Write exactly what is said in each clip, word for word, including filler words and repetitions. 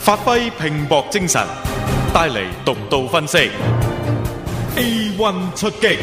發揮拼搏精神，帶嚟獨到分析。A one 出擊。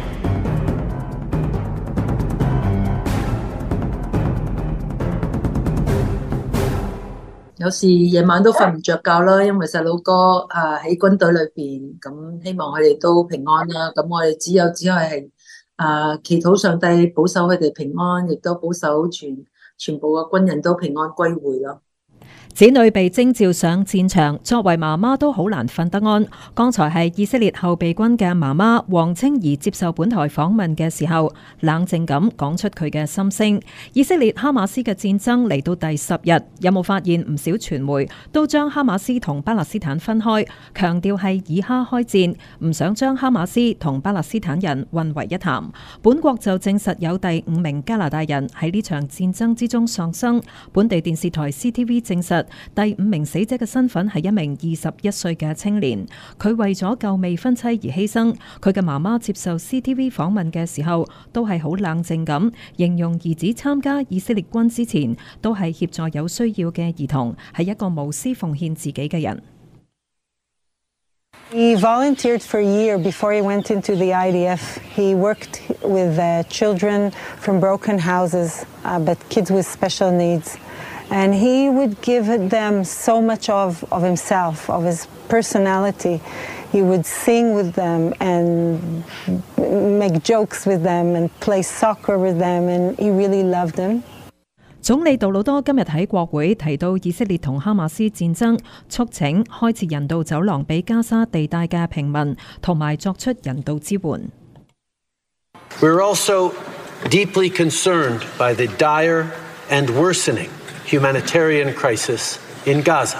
有時夜晚都瞓唔着覺啦，因為細佬哥啊喺軍隊裏邊，咁希望佢哋都平安啦。咁我哋只有只係係啊祈禱上帝保守佢哋平安，亦都保守全全部嘅軍人都平安歸回咯。 子女被徵召上戰場，作為媽媽都好難瞓得安。剛才係以色列後備軍嘅媽媽黃清儀接受本台訪問嘅時候，冷靜咁講出佢嘅心聲。以色列哈馬斯嘅戰爭嚟到第十日，有冇發現唔少傳媒都將哈馬斯同巴勒斯坦分開，強調係以哈開戰，唔想將哈馬斯同巴勒斯坦人混為一談。本國就證實有第五名加拿大人喺呢場戰爭之中喪生。本地電視台 C T V 證實，第五名死者嘅身份係一名二十一歲嘅青年，佢為咗救未婚妻而犧牲。佢嘅媽媽接受 C T V 訪問嘅時候，都係好冷靜咁，形容兒子參加以色列軍之前，都係協助有需要嘅兒童，係一個無私奉獻自己嘅人。 He volunteered for a year before he went into the I D F. He worked with uh, children from broken houses, uh, but kids with special needs. And he would give them so much of, of himself, of his personality. He would sing with them and make jokes with them and play soccer with them, and he really loved them. 總理杜魯多今日喺國會提到以色列同哈馬斯戰爭，促請開設人道走廊俾加沙地帶嘅平民，同埋作出人道支援。 We're also deeply concerned by the dire and worsening humanitarian crisis in Gaza.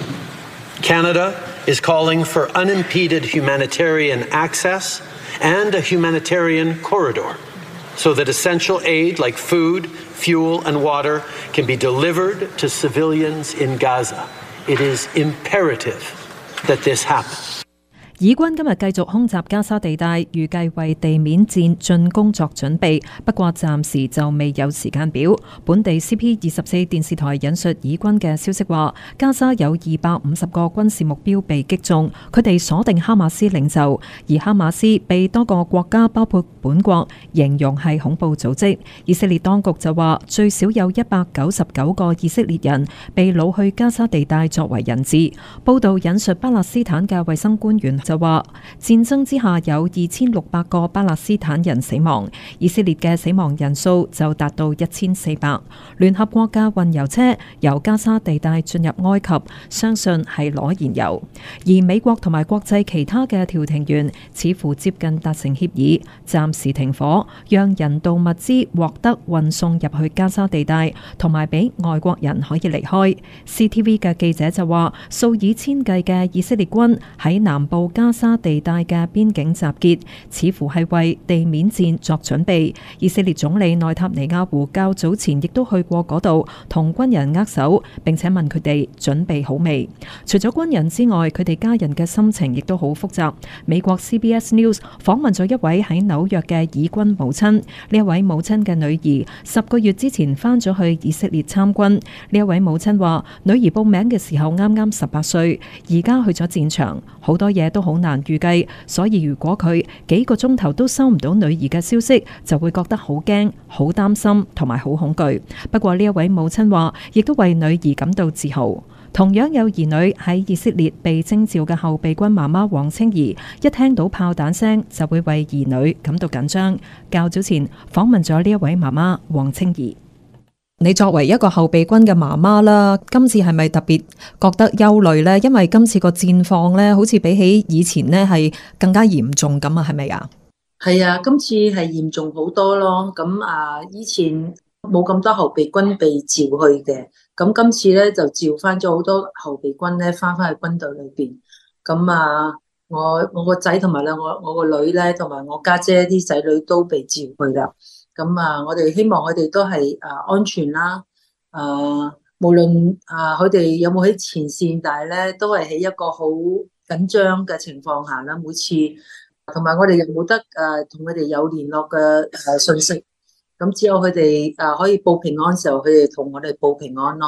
Canada is calling for unimpeded humanitarian access and a humanitarian corridor so that essential aid like food, fuel, and water can be delivered to civilians in Gaza. It is imperative that this happen. 以軍今日繼續空襲加沙地帶，預計為地面戰進攻作準備，不過暫時就未有時間表。本地 C P 二十四電視台引述以軍嘅消息話，加沙有二百五十個軍事目標被擊中，佢哋鎖定哈馬斯領袖，而哈馬斯被多個國家包括本國形容係恐怖組織。以色列當局就話，最少有一百九十九個以色列人被擄去加沙地帶作為人質。報道引述巴勒斯坦嘅衛生官員就話，戰爭之下有二千六百個巴勒斯坦人死亡，以色列嘅死亡人數就達到一千四百。聯合國嘅運油車由加沙地帶進入埃及，相信係攞燃油。而美國同埋國際其他嘅調停員似乎接近達成協議，暫時停火，讓人道物資獲得運送入去加沙地帶，同埋俾外國人可以離開。C T V 嘅記者就話，數以千計嘅以色列軍喺南部加沙地帶嘅邊境集結，似乎係為地面戰作準備。以色列總理內塔尼亞胡較早前亦都去過嗰度，同軍人握手，並且問佢哋準備好未。除咗軍人之外，佢哋家人嘅心情亦都好複雜。美國 C B S News 訪問咗一位喺紐約嘅以軍母親，呢一位母親嘅女兒十個月之前返咗去以色列參軍。呢一位母親話，女兒報名嘅時候啱啱十八歲，而家去咗戰場，好多嘢都好難預計，所以如果佢幾個鐘頭都收唔到女兒嘅消息，就會覺得好驚、好擔心同埋好恐懼。不過呢一位母親話，亦都為女兒感到自豪。同樣有兒女喺以色列被徵召嘅後備軍媽媽黃清儀，一聽到炮彈聲就會為兒女感到緊張。較早前訪問咗呢一位媽媽黃清儀。你作為一個後備軍嘅媽媽啦，今次係咪特別覺得憂慮呢？因為今次個戰況呢，好似比起以前呢係更加嚴重咁啊，係咪啊？ 係啊，今次係嚴重好多咯。咁啊，以前冇咁多後備軍被召去嘅，咁今次咧就召翻咗好多後備軍咧翻翻去軍隊裏邊。咁啊，我我個仔同埋咧，我我個女咧，同埋我家姐啲仔女都被召去啦。咁啊，我哋希望佢哋都係啊安全啦，啊無論啊佢哋有冇喺前線，但係咧都係喺一個好緊張嘅情況下啦。每次同埋我哋又冇得誒同佢哋有聯絡嘅誒信息，咁只有佢哋誒可以報平安嘅時候，佢哋同我哋報平安咯。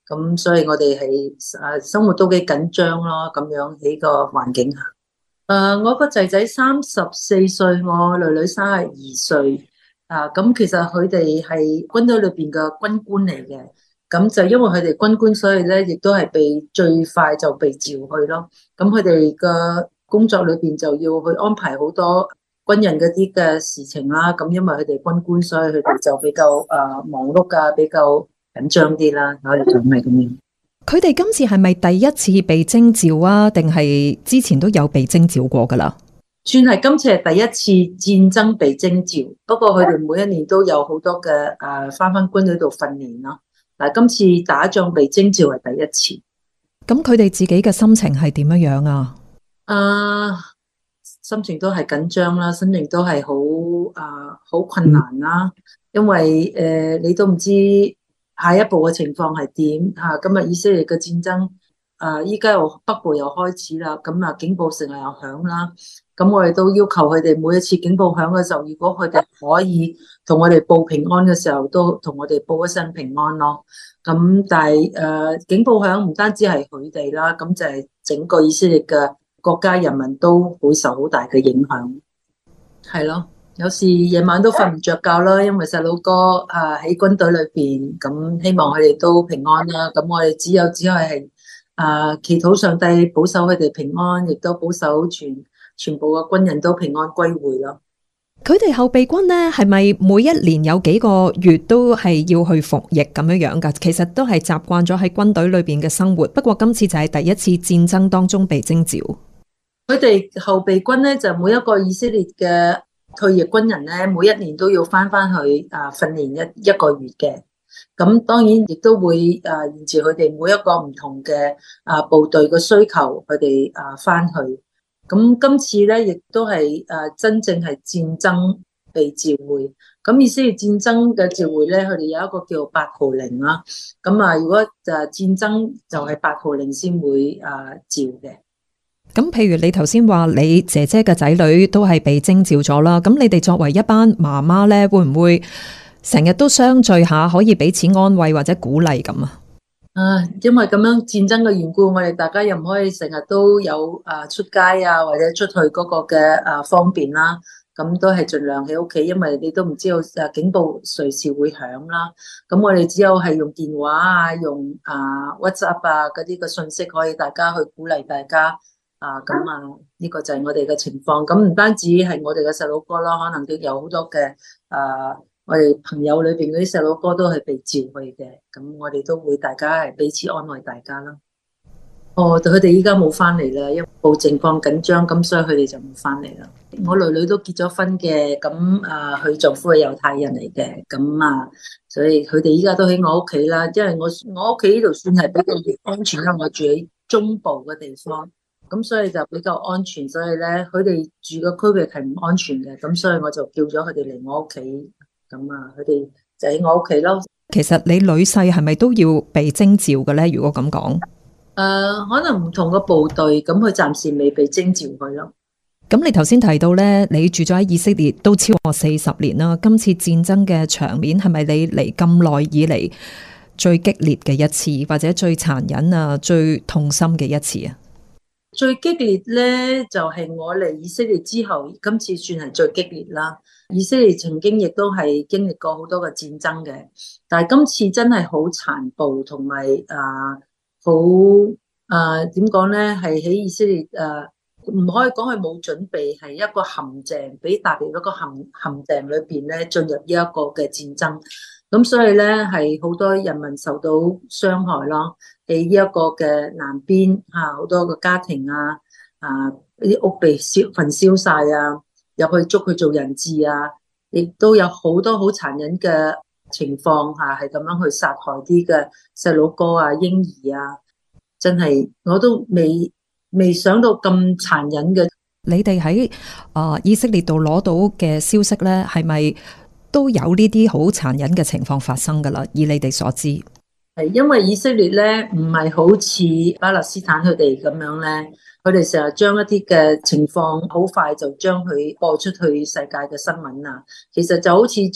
咁所以我哋係誒生活都幾緊張咯，咁樣喺個環境下。誒、呃，我個仔仔三十四歲，我女女三十二歲。啊，咁其實佢哋係軍隊裏邊嘅軍官嚟嘅，咁就因為佢哋軍官，所以咧亦都係被最快就被召去咯。咁佢哋嘅工作裏邊就要去安排好多軍人嗰啲嘅事情啦。咁因為佢哋軍官，所以佢哋就比較誒忙碌啊，比較緊張啲啦。我哋就係咁樣。 佢哋今次係咪第一次被徵召啊？定係之前都有被徵召過噶啦？ 算係今次係第一次戰爭被徵召，不過佢哋每一年都有好多嘅誒翻翻軍隊度訓練咯。但係今次打仗被徵召係第一次。 咁佢哋自己嘅心情係點樣樣啊？ 啊，心情都係緊張啦，心情都係好啊好困難啦，因為誒、呃、你都唔知下一步嘅情況係點吓。今日以色列嘅戰爭啊，依家又北部又開始啦，咁啊警報成日又響啦。咁我哋都要求佢哋每一次警報響嘅時候，如果佢哋可以同我哋報平安嘅時候，都同我哋報一聲平安咯。咁但係誒、呃、警報響唔單止係佢哋啦，咁就係整個以色列嘅國家人民都會受好大嘅影響。係咯，有時夜晚都瞓唔着覺啦，因為細佬哥啊喺軍隊裏邊，咁希望佢哋都平安啦。咁我哋只有只係係啊祈禱上帝保守佢哋平安，亦都保守全。全部嘅軍人都平安歸回咯。 佢哋後備軍呢，係咪每一年有幾個月都係要去服役咁樣樣噶？其實都係習慣咗喺軍隊裏邊嘅生活。不過今次就係第一次戰爭當中被徵召。 佢哋後備軍呢，就每一個以色列嘅退役軍人呢，每一年都要翻翻去啊訓練一一個月嘅。咁當然亦都會啊沿住佢哋每一個唔同嘅啊部隊嘅需求，佢哋啊翻去。咁今次咧，亦都係誒真正係戰爭被召回。咁意思係戰爭嘅召回咧，佢哋有一個叫八號令啦。咁啊，如果就係戰爭就係八號令先會誒召嘅。 咁譬如你頭先話你姐姐嘅仔女都係被徵召咗啦，咁你哋作為一班媽媽咧，會唔會成日都相聚下，可以彼此安慰或者鼓勵咁啊？ 啊，因為咁樣戰爭嘅緣故，我哋大家又唔可以成日都有啊出街啊，或者出去嗰個嘅啊方便啦。咁都係盡量喺屋企，因為你都唔知道啊警報隨時會響啦。咁我哋只有係用電話啊，用啊 WhatsApp 啊嗰啲嘅信息，可以大家去鼓勵大家啊。咁啊，呢個就係我哋嘅情況。咁唔單止係我哋嘅細佬哥啦，可能都有好多嘅啊。我哋朋友裏邊嗰啲細佬哥都係被召去嘅，咁我哋都會大家係彼此安慰大家啦。哦，佢哋依家冇翻嚟啦，因為部情況緊張，咁所以佢哋就冇翻嚟啦。我女女都結咗婚嘅，咁啊佢丈夫係猶太人嚟嘅，咁啊，所以佢哋依家都喺我屋企啦。因為我我屋企呢度算係比較安全，因為我住喺中部嘅地方，咁所以就比較安全。所以咧，佢哋住嘅區域係唔安全嘅，咁所以我就叫咗佢哋嚟我屋企。咁啊，佢哋就喺我屋企咯。 其實你女婿係咪都要被徵召嘅咧？如果咁講，誒、 呃，可能唔同嘅部隊，咁佢暫時未被徵召佢咯。 咁你頭先提到咧，你住咗喺以色列都超過四十年啦。今次戰爭嘅場面係咪你嚟咁耐以嚟最激烈嘅一次，或者最殘忍啊、最痛心嘅一次啊？ 最激烈咧，就係、是、我嚟以色列之後，今次算係最激烈啦。以色列曾經亦都係經歷過好多嘅戰爭嘅，但係今次真係好殘暴，同埋啊好啊點講咧，係喺以色列誒唔可以講係冇準備，係一個陷阱，俾踏入一個陷陷阱裏邊咧，進入呢一個嘅戰爭。咁所以咧係好多人民受到傷害咯，喺呢一個嘅南邊嚇好多個家庭啊啊啲屋被燒焚燒晒啊！入去捉佢做人質啊，亦都有好多好殘忍嘅情況下，係咁樣去殺害啲嘅細佬哥啊、嬰兒啊，真係我都未未想到咁殘忍嘅。 你哋喺啊以色列度攞到嘅消息咧，係咪都有呢啲好殘忍嘅情況發生噶啦？以你哋所知， 係因為以色列咧唔係好似巴勒斯坦佢哋咁樣咧。佢哋成日將一啲嘅情況好快就將佢播出去世界嘅新聞啊，其實就好似將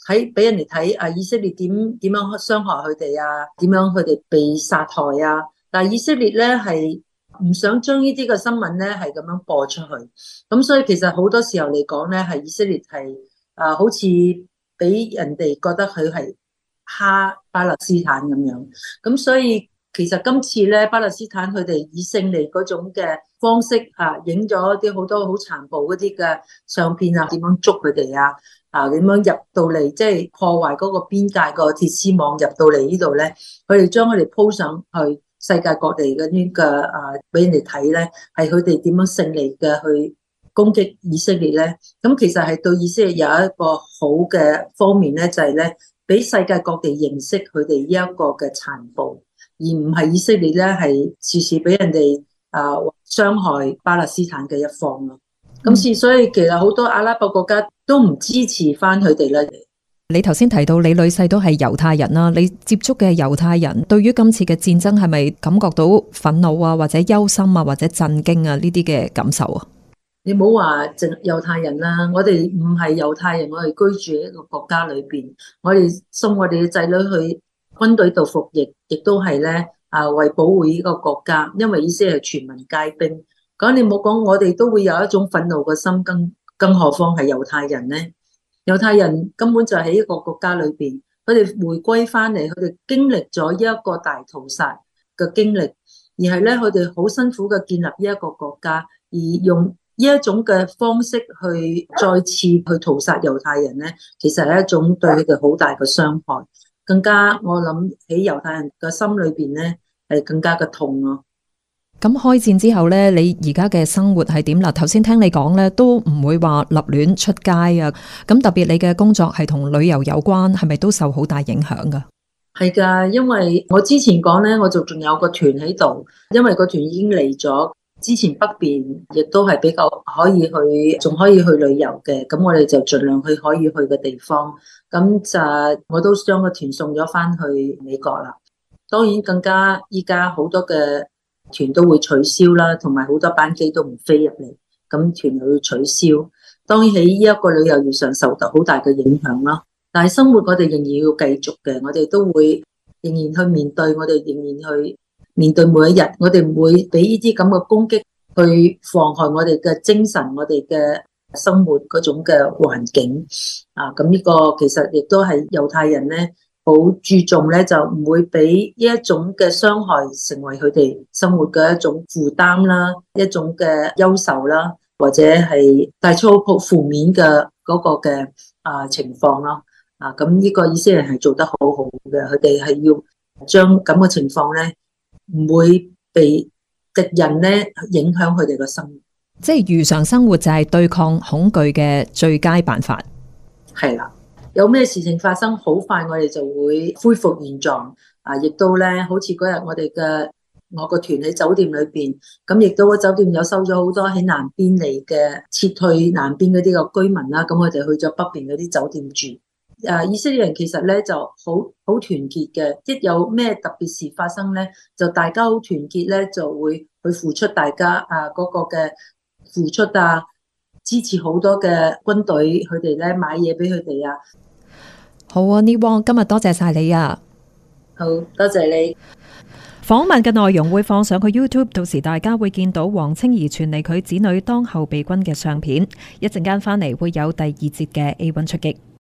喺俾人哋睇啊，以色列點點樣傷害佢哋啊，點樣佢哋被殺害啊。但係以色列咧係唔想將呢啲嘅新聞咧係咁樣播出去，咁所以其實好多時候嚟講咧，係以色列係啊，好似俾人哋覺得佢係蝦巴勒斯坦咁樣。咁所以其實今次咧，巴勒斯坦佢哋以勝利嗰種嘅方式啊，影咗啲好多好殘暴嗰啲嘅相片啊，點樣捉佢哋啊？啊，點樣入到嚟，即係破壞嗰個邊界個鐵絲網入到嚟呢度咧？佢哋將佢哋鋪上去世界各地嗰啲嘅啊，俾人哋睇咧，係佢哋點樣勝利嘅去攻擊以色列咧？咁其實係對以色列有一個好嘅方面咧，就係咧，俾世界各地認識佢哋呢一個嘅殘暴，而唔係以色列咧係時時俾人哋啊傷害巴勒斯坦嘅一方咯。咁是，所以其實好多阿拉伯國家都唔支持翻佢哋啦。 你頭先提到你女婿都係猶太人啦，你接觸嘅猶太人對於今次嘅戰爭係咪感覺到憤怒啊，或者憂心啊，或者震驚啊呢啲嘅感受啊？ 你唔好話淨猶太人啦，我哋唔係猶太人，我哋居住喺一個國家裏邊，我哋送我哋嘅仔女去軍隊度服役，亦都係咧啊為保護呢個國家，因為以色列係全民皆兵。咁你冇講，我哋都會有一種憤怒嘅心，更更何況係猶太人咧？猶太人根本就喺一個國家裏邊，佢哋回歸翻嚟，佢哋經歷咗一個大屠殺嘅經歷，而係咧佢哋好辛苦嘅建立呢一個國家，而用呢一種嘅方式去再次去屠殺猶太人咧，其實係一種對佢哋好大嘅傷害，更加我諗喺猶太人嘅心裏邊咧係更加嘅痛咯。 咁開戰之後咧，你而家嘅生活係點啦？頭先聽你講咧，都唔會話立亂出街啊。咁特別你嘅工作係同旅遊有關，係咪都受好大影響噶？ 係噶，因為我之前講咧，我就仲有個團喺度，因為個團已經嚟咗。之前北邊亦都係比較可以去，仲可以去旅遊嘅。咁我哋就盡量去可以去嘅地方。咁就我都將個團送咗翻去美國啦。當然更加依家好多嘅團都會取消啦，同埋好多班機都唔飛入嚟，咁團又要取消。當然喺呢一個旅遊業上受到好大嘅影響啦。但係生活我哋仍然要繼續嘅，我哋都會仍然去面對，我哋仍然去面對每一日。我哋唔會俾呢啲咁嘅攻擊去妨害我哋嘅精神，我哋嘅生活嗰種嘅環境啊。咁呢個其實亦都係猶太人咧。好注重咧，就唔會俾呢一種嘅傷害成為佢哋生活嘅一種負擔啦，一種嘅憂愁啦，或者係帶出好負面嘅嗰個嘅啊情況咯。啊，咁呢個以色列人係做得好好嘅，佢哋係要將咁嘅情況咧，唔會被敵人咧影響佢哋嘅生活。 即係如常生活就係對抗恐懼嘅最佳辦法。 係啦。有咩事情發生，好快我哋就會恢復現狀啊！亦都咧，好似嗰日我哋嘅我個團喺酒店裏邊，咁亦都個酒店有收咗好多喺南邊嚟嘅撤退南邊嗰啲嘅居民啦。咁我哋去咗北邊嗰啲酒店住。啊，以色列人其實咧就好好團結嘅，一有咩特別事發生咧，就大家好團結咧，就會去付出大家啊嗰個嘅付出啊。支持好多嘅軍隊，佢哋咧買嘢俾佢哋啊！ 好啊，Niwong，今日多謝晒你啊！ 好多謝你。 訪問嘅內容會放上去 YouTube， 到時大家會見到黃清儀傳嚟佢子女當後備軍嘅相片。一陣間翻嚟會有第二節嘅 A 一出擊。